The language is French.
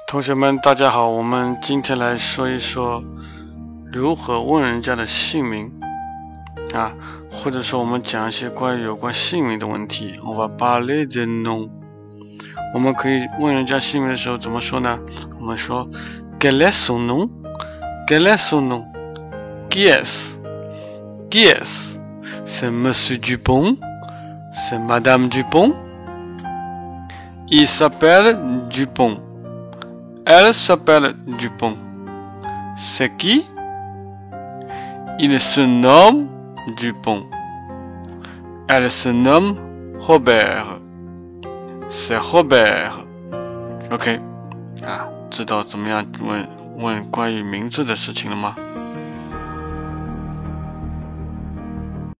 同学们，大家好，我们今天来说一说如何问人家的姓名啊，或者说我们讲一些有关姓名的问题。On va parler de nom。我们可以问人家姓名的时候怎么说呢？我们说 Quel est son nom? Quel est son nom? Qui est-ce? Qui est-ce? C'est Monsieur Dupont? C'est Madame Dupont? Il s'appelle Dupont.Elle s'appelle Dupont. C'est qui? Il se nomme Dupont. Elle se nomme Robert. C'est Robert. OK 啊，知道怎么样问关于名字的事情了吗？